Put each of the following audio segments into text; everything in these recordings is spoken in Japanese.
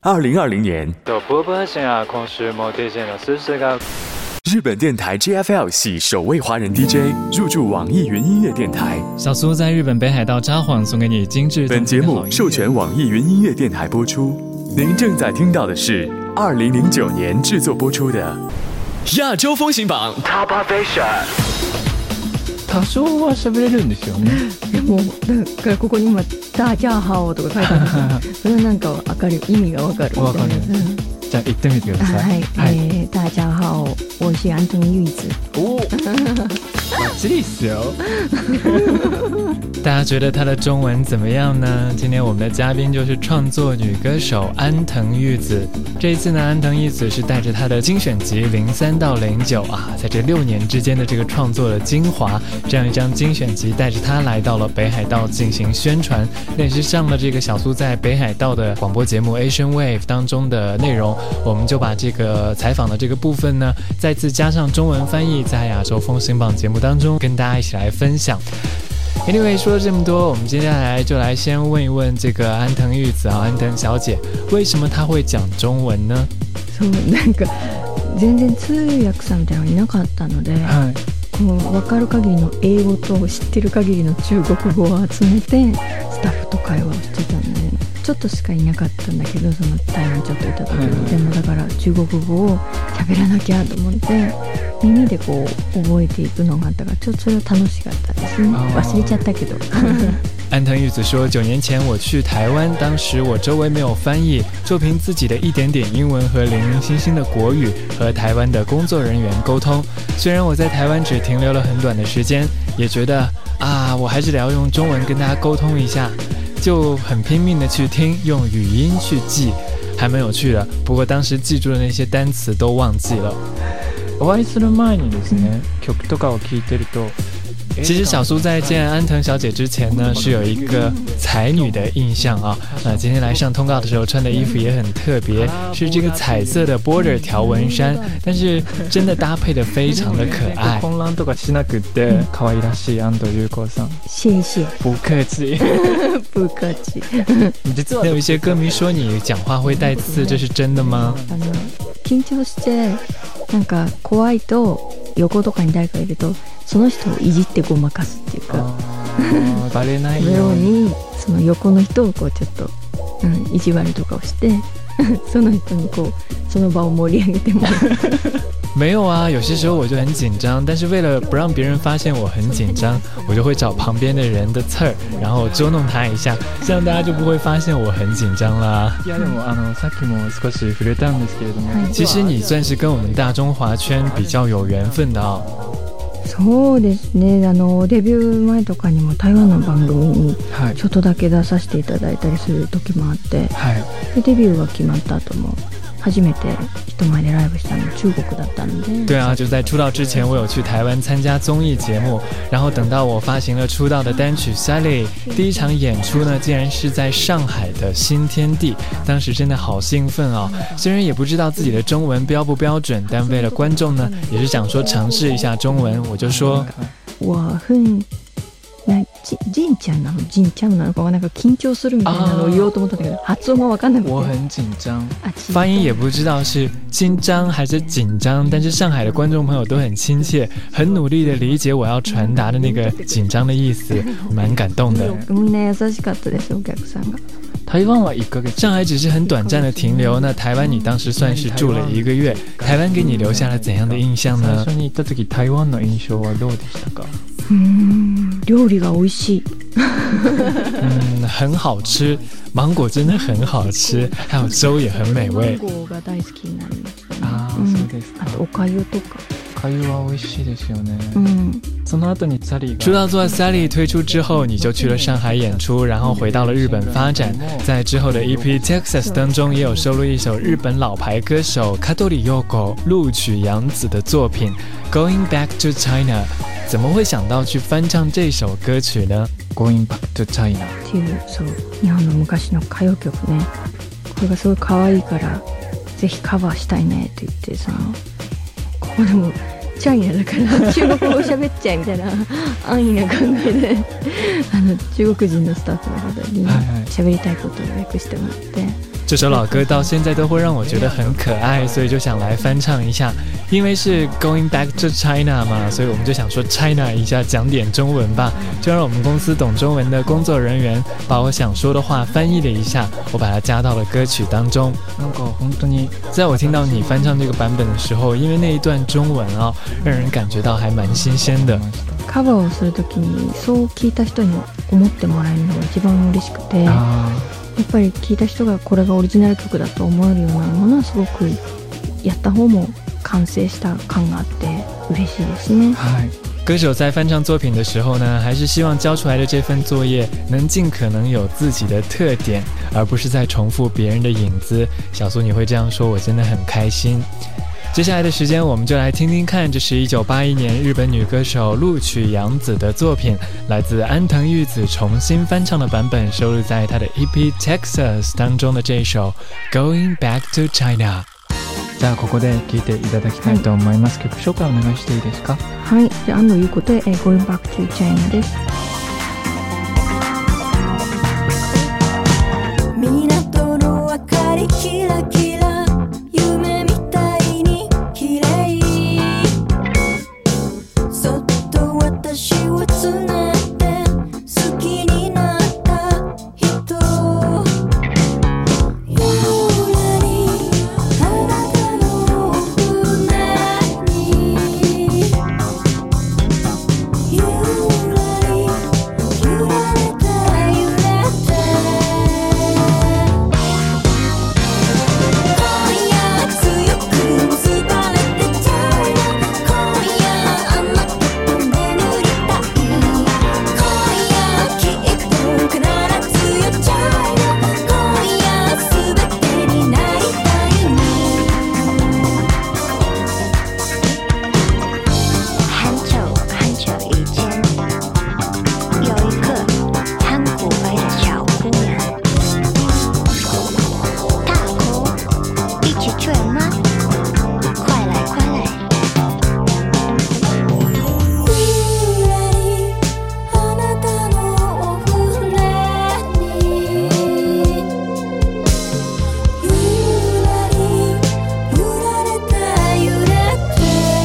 2020年，日本电台 JFL 系首位华人 DJ 入驻网易云音乐电台。 小苏在日本北海道札幌送给你精致。 本节目授权网易云音乐电台播出。您正在听到的是2009年制作播出的亚洲风行榜 Top Asia。 多少は喋れるんですよね。 もうだからここに今ダージャーハオとか書いてあるんですよ。それはなんか分かる、意味が分かるみたいな。 じゃあ言ってみてください。 はい、大家好，我是安藤裕子。 おバッチリっすよ。 大家觉得她的中文怎么样呢？今天我们的嘉宾就是创作女歌手安藤裕子。这一次呢，安藤裕子是带着她的精选集03到09在这6年之间的这个创作的精华，这样一张精选集带着她来到了北海道进行宣传，那也是上了这个小苏在北海道的广播节目 Asian Wave 当中的内容。我们就把这个采访的这个部分呢，再次加上中文翻译，在亚洲风行榜节目当中跟大家一起来分享。Anyway， 说了这么多，我们接下来就来先问一问这个安藤裕子安藤小姐，为什么她会讲中文呢？ そうなんか全然通訳さんみたいなのがいなかったので、こう分かる限りの英語と知ってる限りの中国語を集めてスタッフと会話をしてたので、ちょっとしかいなかったんだけど、その台湾ちょっといた時に、でもだから中国語を喋らなきゃと思って耳でこう覚えていくのがあったから、ちょっとそれは楽しかったですね。忘れちゃったけど。 安藤裕子说，9年前我去台湾，当时我周围没有翻译，就凭自己的一点点英文和零零星星的国语和台湾的工作人员沟通。虽然我在台湾只停留了很短的时间，也觉得我还是得要用中文跟大家沟通一下，就很拼命的去听，用语音去记，还蛮有趣的。不过当时记住的那些单词都忘记了。 お会いする前にですね、曲とかを聴いてると。 其实小苏在见安藤小姐之前呢，是有一个才女的印象今天来上通告的时候穿的衣服也很特别，是这个彩色的 border 条纹衫，但是真的搭配的非常的可爱。 混乱とかしなくて可愛らしい安藤裕子さん。 谢谢。 不客气。 不客气。 実は有一些歌迷说你讲话会带刺，这是真的吗？ 緊張してなんか怖いと横とかに誰かいるとその人をいじってごまかすっていうか、 バレないようにその横の人をこうちょっと、意地悪とかをしてその人にこうその場を盛り上げてもらう。 没有有些时候我就很紧张，但是为了不让别人发现我很紧张，我就会找旁边的人的刺儿，然后捉弄他一下，这样大家就不会发现我很紧张啦。 いやでもさっきも少し触れたんですけれども、 其實你算是跟我们大中華圈比較有緣分的そうですね。デビュー前とかにも台湾の番組にちょっとだけ出させていただいたりする時もあって、でデビューが決まった後も初めて人前でライブしたの中国だったので。 对就在出道之前我有去台湾参加综艺节目，然后等到我发行了出道的单曲 Sally， 第一场演出呢竟然是在上海的新天地，当时真的好兴奋虽然也不知道自己的中文标不标准，但为了观众呢也是想说尝试一下中文，我就说我很ジンちゃんなのジンちゃんなのかなんか緊張するみたいなのを言おうと思ったんだけど、発音が分かんなくて。 我很紧张。 发音也不知道是紧張還是緊張，但是上海的觀眾朋友都很親切，很努力的理解我要傳達的那個緊張的意思，蠻感動的。 みんな優しかったですお客さんが。 台湾は1ヶ月。 上海只是很短暫的停留，那台灣你當時算是住了1個月，台灣給你留下了怎樣的印象呢？ 最初に行った時台灣の印象はどうでしたか？ 料理が美味しい。 很好吃，芒果真的很好吃，还有粥也很美味。 芒果が大好きになりましたね。 そうですか。 あとおかゆとか。 おかゆは美味しいですよね。その後にサリー出道作 Sally 推出之后，你就去了上海演出，然后回到了日本发展。在之后的 EP Texas 当中，也有收录一首日本老牌歌手卡多里佑子陆曲洋子的作品 Going Back to China。怎么会想到去翻唱这首歌曲呢？ Going Back to China っていうそう日本の昔の歌謡曲ね。これがすごい可愛いからぜひカバーしたいねって言って、ここでもチャイナだから中国語喋っちゃえみたいな安易な考えで中国人のスタッフの方に喋りたいことを訳してもらって、 这首老歌到现在都会让我觉得很可爱，所以就想来翻唱一下。因为是 Going Back to China 嘛，所以我们就想说 China 一下，讲点中文吧。就让我们公司懂中文的工作人员把我想说的话翻译了一下，我把它加到了歌曲当中。在我听到你翻唱这个版本的时候，因为那一段中文啊，让人感觉到还蛮新鲜的。 カバーをするときにそう聞いた人に思ってもらえるのが一番嬉しくて、やっぱり聞いた人がこれがオリジナル曲だと思えるようなものはすごくやった方も完成した感があって嬉しいですね。 歌手在翻唱作品的时候呢，还是希望交出来的这份作业能尽可能有自己的特点，而不是在重复别人的影子。小苏你会这样说，我真的很开心。接下来的时间我们就来听听看，这是1981年日本女歌手鹿曲洋子的作品，来自安藤裕子重新翻唱的版本，收录在她的 EP Texas 当中的这一首 Going Back to China。 じゃあここで聴いていただきたいと思います。曲紹介お願いしていいですか？ はい、じゃあ安藤裕子で Going Back to China です。 港の明かりキラキラ夢みたいに綺麗そっと私をつねって好きになった人ゆらりあなたの船にゆらり揺られて揺れて今夜強く結ばれてちゃう今夜あなたと眠りたい今夜きっと必ずやっちゃう今夜全てになりたいの很久很久以前，有一个很古怪的小姑娘。大哭，一起追吗？快来快来！ ゆらりあなたのお船にゆらり揺られて揺れて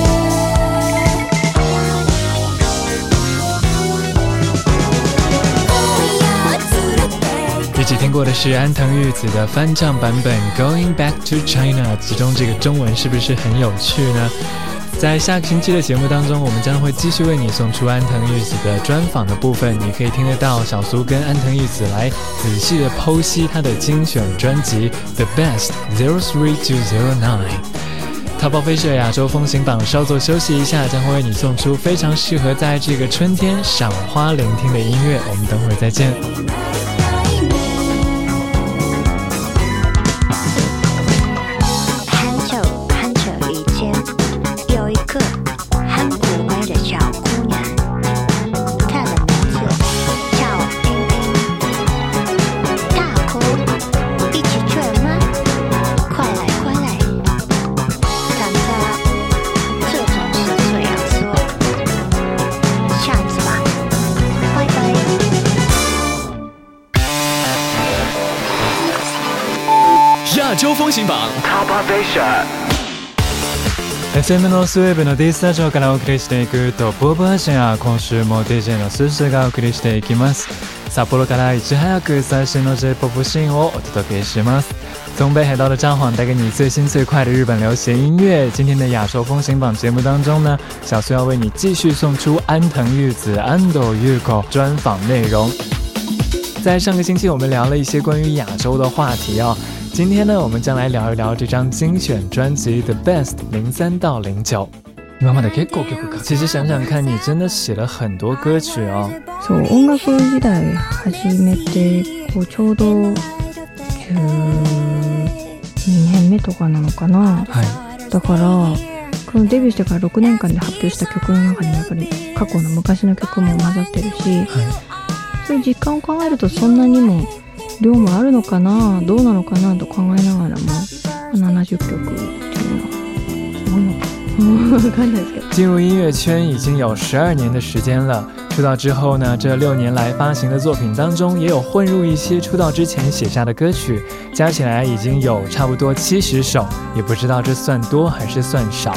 一起听过的是安藤裕子的翻唱版本 Going Back to China， 其中这个中文是不是很有趣呢？在下个星期的节目当中，我们将会继续为你送出安藤裕子的专访的部分，你可以听得到小苏跟安藤裕子来仔细的剖析她的精选专辑 The Best 03209。淘宝飞社亚洲风行榜稍作休息一下，将会为你送出非常适合在这个春天赏花聆听的音乐，我们等会儿再见。 很久很久以前，有一个很古怪的小姑娘，她的名字叫英英。大哭，一起追吗？快来快来！但她这种事这样说，下次吧，拜拜。 亚洲风行榜 Top FM ノースウェーブの D スタジオからお送りしていくトップオブアジア、今週も DJ のスースーがお送りしていきます。札幌からいち早く最新の J-POP シーンをお届けします。从北海道的札幌带给你最新最快的日本流行音乐。今天的亚洲风行榜节目当中呢，小苏要为你继续送出安藤裕子安藤裕子专访内容。在上个星期我们聊了一些关于亚洲的话题啊，今天呢我们将来聊一聊这张精选专辑 The Best 03到09。今まで結構曲か。其实想想看，你真的写了很多歌曲哦。 そう音楽時代始めてちょうど12年目とかなのかな、だからこのデビューしてから6年間で発表した曲の中にやっぱり過去の昔の曲も混ざってるし、そういう実感を考えるとそんなにも量もあるのかな、どうなのかなと考えながらも70曲っていうのは多いのか分かんないですけど。 进入音乐圈已经有12年的时间了， 出道之后呢，这6年来发行的作品当中也有混入一些出道之前写下的歌曲，加起来已经有差不多70首，也不知道这算多还是算少。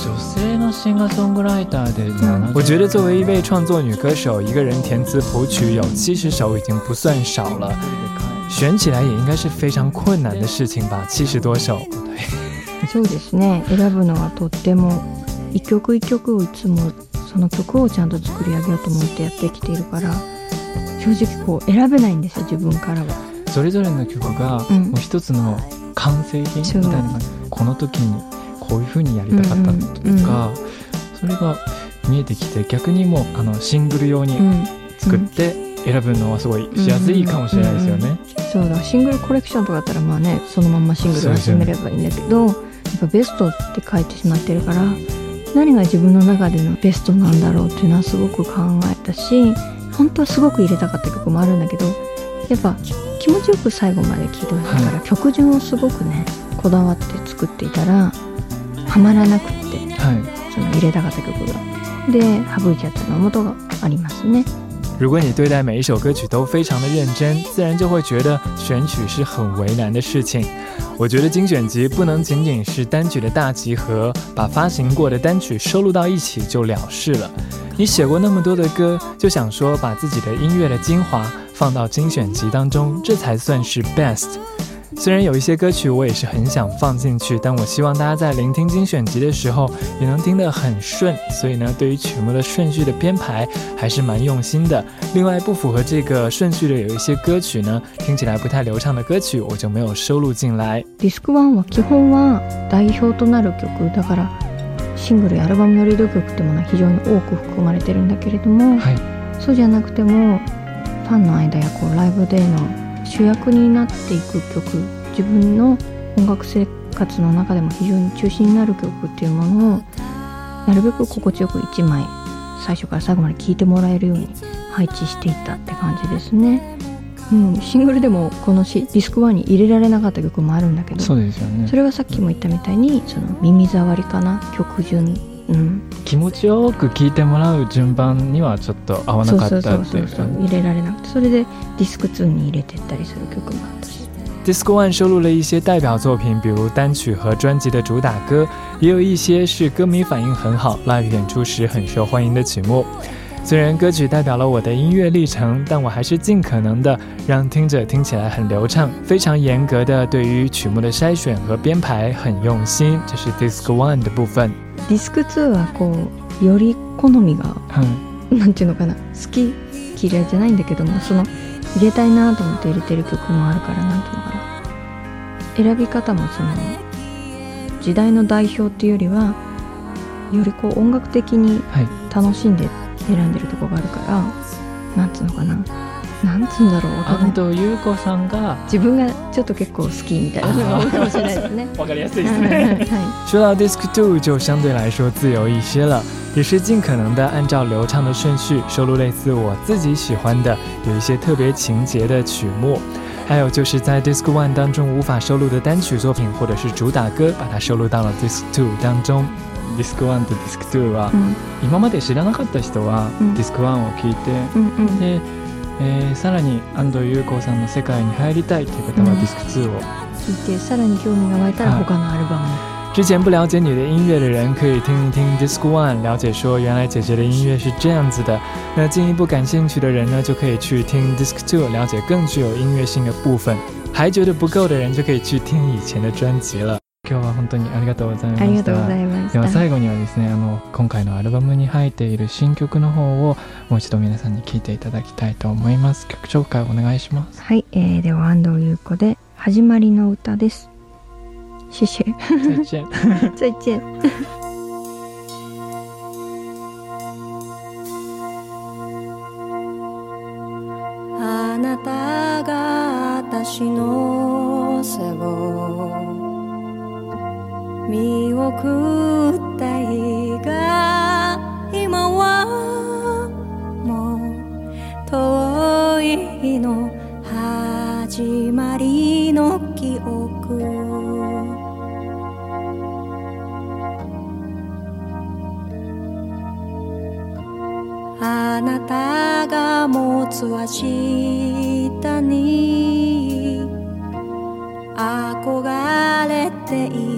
我觉得作为一位创作女歌手，一个人填词谱曲有70首已经不算少了，选起来也应该是非常困难的事情吧，70多首。 そうですね、選ぶのはとっても一曲一曲をいつもその曲をちゃんと作り上げようと思ってやってきているから、正直こう選べないんですよ、自分からは。 それぞれの曲がもう一つの完成品みたいな、この時にこういう風にやりたかったとか、それが見えてきて、逆にもうシングル用に作って選ぶのはすごいしやすいかもしれないですよね。 そうだ、シングルコレクションとかだったらまあね、そのまんまシングルを集めればいいんだけど、やっぱベストって書いてしまってるから、何が自分の中でのベストなんだろうっていうのはすごく考えたし、本当はすごく入れたかった曲もあるんだけど、やっぱ気持ちよく最後まで聴いてほしいから、曲順をすごくねこだわって作っていたらはまらなくって、その入れたかった曲がで省いちゃったの元がありますね。 如果你对待每一首歌曲都非常的认真，自然就会觉得选曲是很为难的事情。我觉得精选集不能仅仅是单曲的大集合，把发行过的单曲收录到一起就了事了。你写过那么多的歌，就想说把自己的音乐的精华放到精选集当中，这才算是 best。虽然有一些歌曲我也是很想放进去，但我希望大家在聆听精选集的时候也能听得很顺，所以呢，对于曲目的顺序的编排还是蛮用心的。另外不符合这个顺序的有一些歌曲呢，听起来不太流畅的歌曲我就没有收录进来。 ディスク1は基本は代表となる曲だから、シングルやアルバムのリード曲ってものは非常に多く含まれてるんだけれども、そうじゃなくてもファンの間やこうライブでの主役になっていく曲、自分の音楽生活の中でも非常に中心になる曲っていうものをなるべく心地よく1枚最初から最後まで聴いてもらえるように配置していったって感じですね。シングルでもこのディスク1に入れられなかった曲もあるんだけど、 そうですよね。 それはさっきも言ったみたいにその耳障りかな、曲順、 気持ちよく聴いてもらう順番にはちょっと合わなかったっていう。 入れられなくて、それでディスク2に入れてったりする曲もあったし。 Disc One 收录了一些代表作品，比如单曲和专辑的主打歌，也有一些是歌迷反应很好、live 演出时很受欢迎的曲目。虽然歌曲代表了我的音乐历程，但我还是尽可能的让听者听起来很流畅，非常严格的对于曲目的筛选和编排很用心，这是 Disc One 的部分。 ディスク2はこうより好みが、なんていうのかな、好き嫌いじゃないんだけども、その入れたいなと思って入れてる曲もあるから、なんていうのかな、選び方もその時代の代表っていうよりはよりこう音楽的に楽しんで選んでるところがあるから、なんつうのかな、なんつうんだろう、分かんない。 安藤優子さんが自分がちょっと結構好きみたいなのが多いかもしれないですね。 わかりやすいですね。说到 Disc 2就相对来说自由一些了，也是尽可能的按照流畅的顺序收录类似我自己喜欢的有一些特别情节的曲目，还有就是在 Disc 1当中无法收录的单曲作品或者是主打歌，把它收录到了 Disc 2当中。 ディスク1とディスク2は、今まで知らなかった人はディスク1を聴いて、でさらに安藤優子さんの世界に入りたいという方はディスク2を聴いて、さらに興味が湧いたら他のアルバム。 之前不了解你的音乐的人可以听一听 Disc One， 了解说原来姐姐的音乐是这样子的。那进一步感兴趣的人呢，就可以去听 Disc 2， 了解更具有音乐性的部分。还觉得不够的人就可以去听以前的专辑了。 今日は本当にありがとうございました。 ありがとうございました。 では最後にはですね、今回のアルバムに入っている新曲の方をもう一度皆さんに聴いていただきたいと思います。曲紹介お願いします。 はい、では安藤優子で始まりの歌です。谢谢。 再见。 再见。 あなたが私の背を見送った日が今はもう遠い日の始まりの記憶、あなたが持つ明日に憧れてい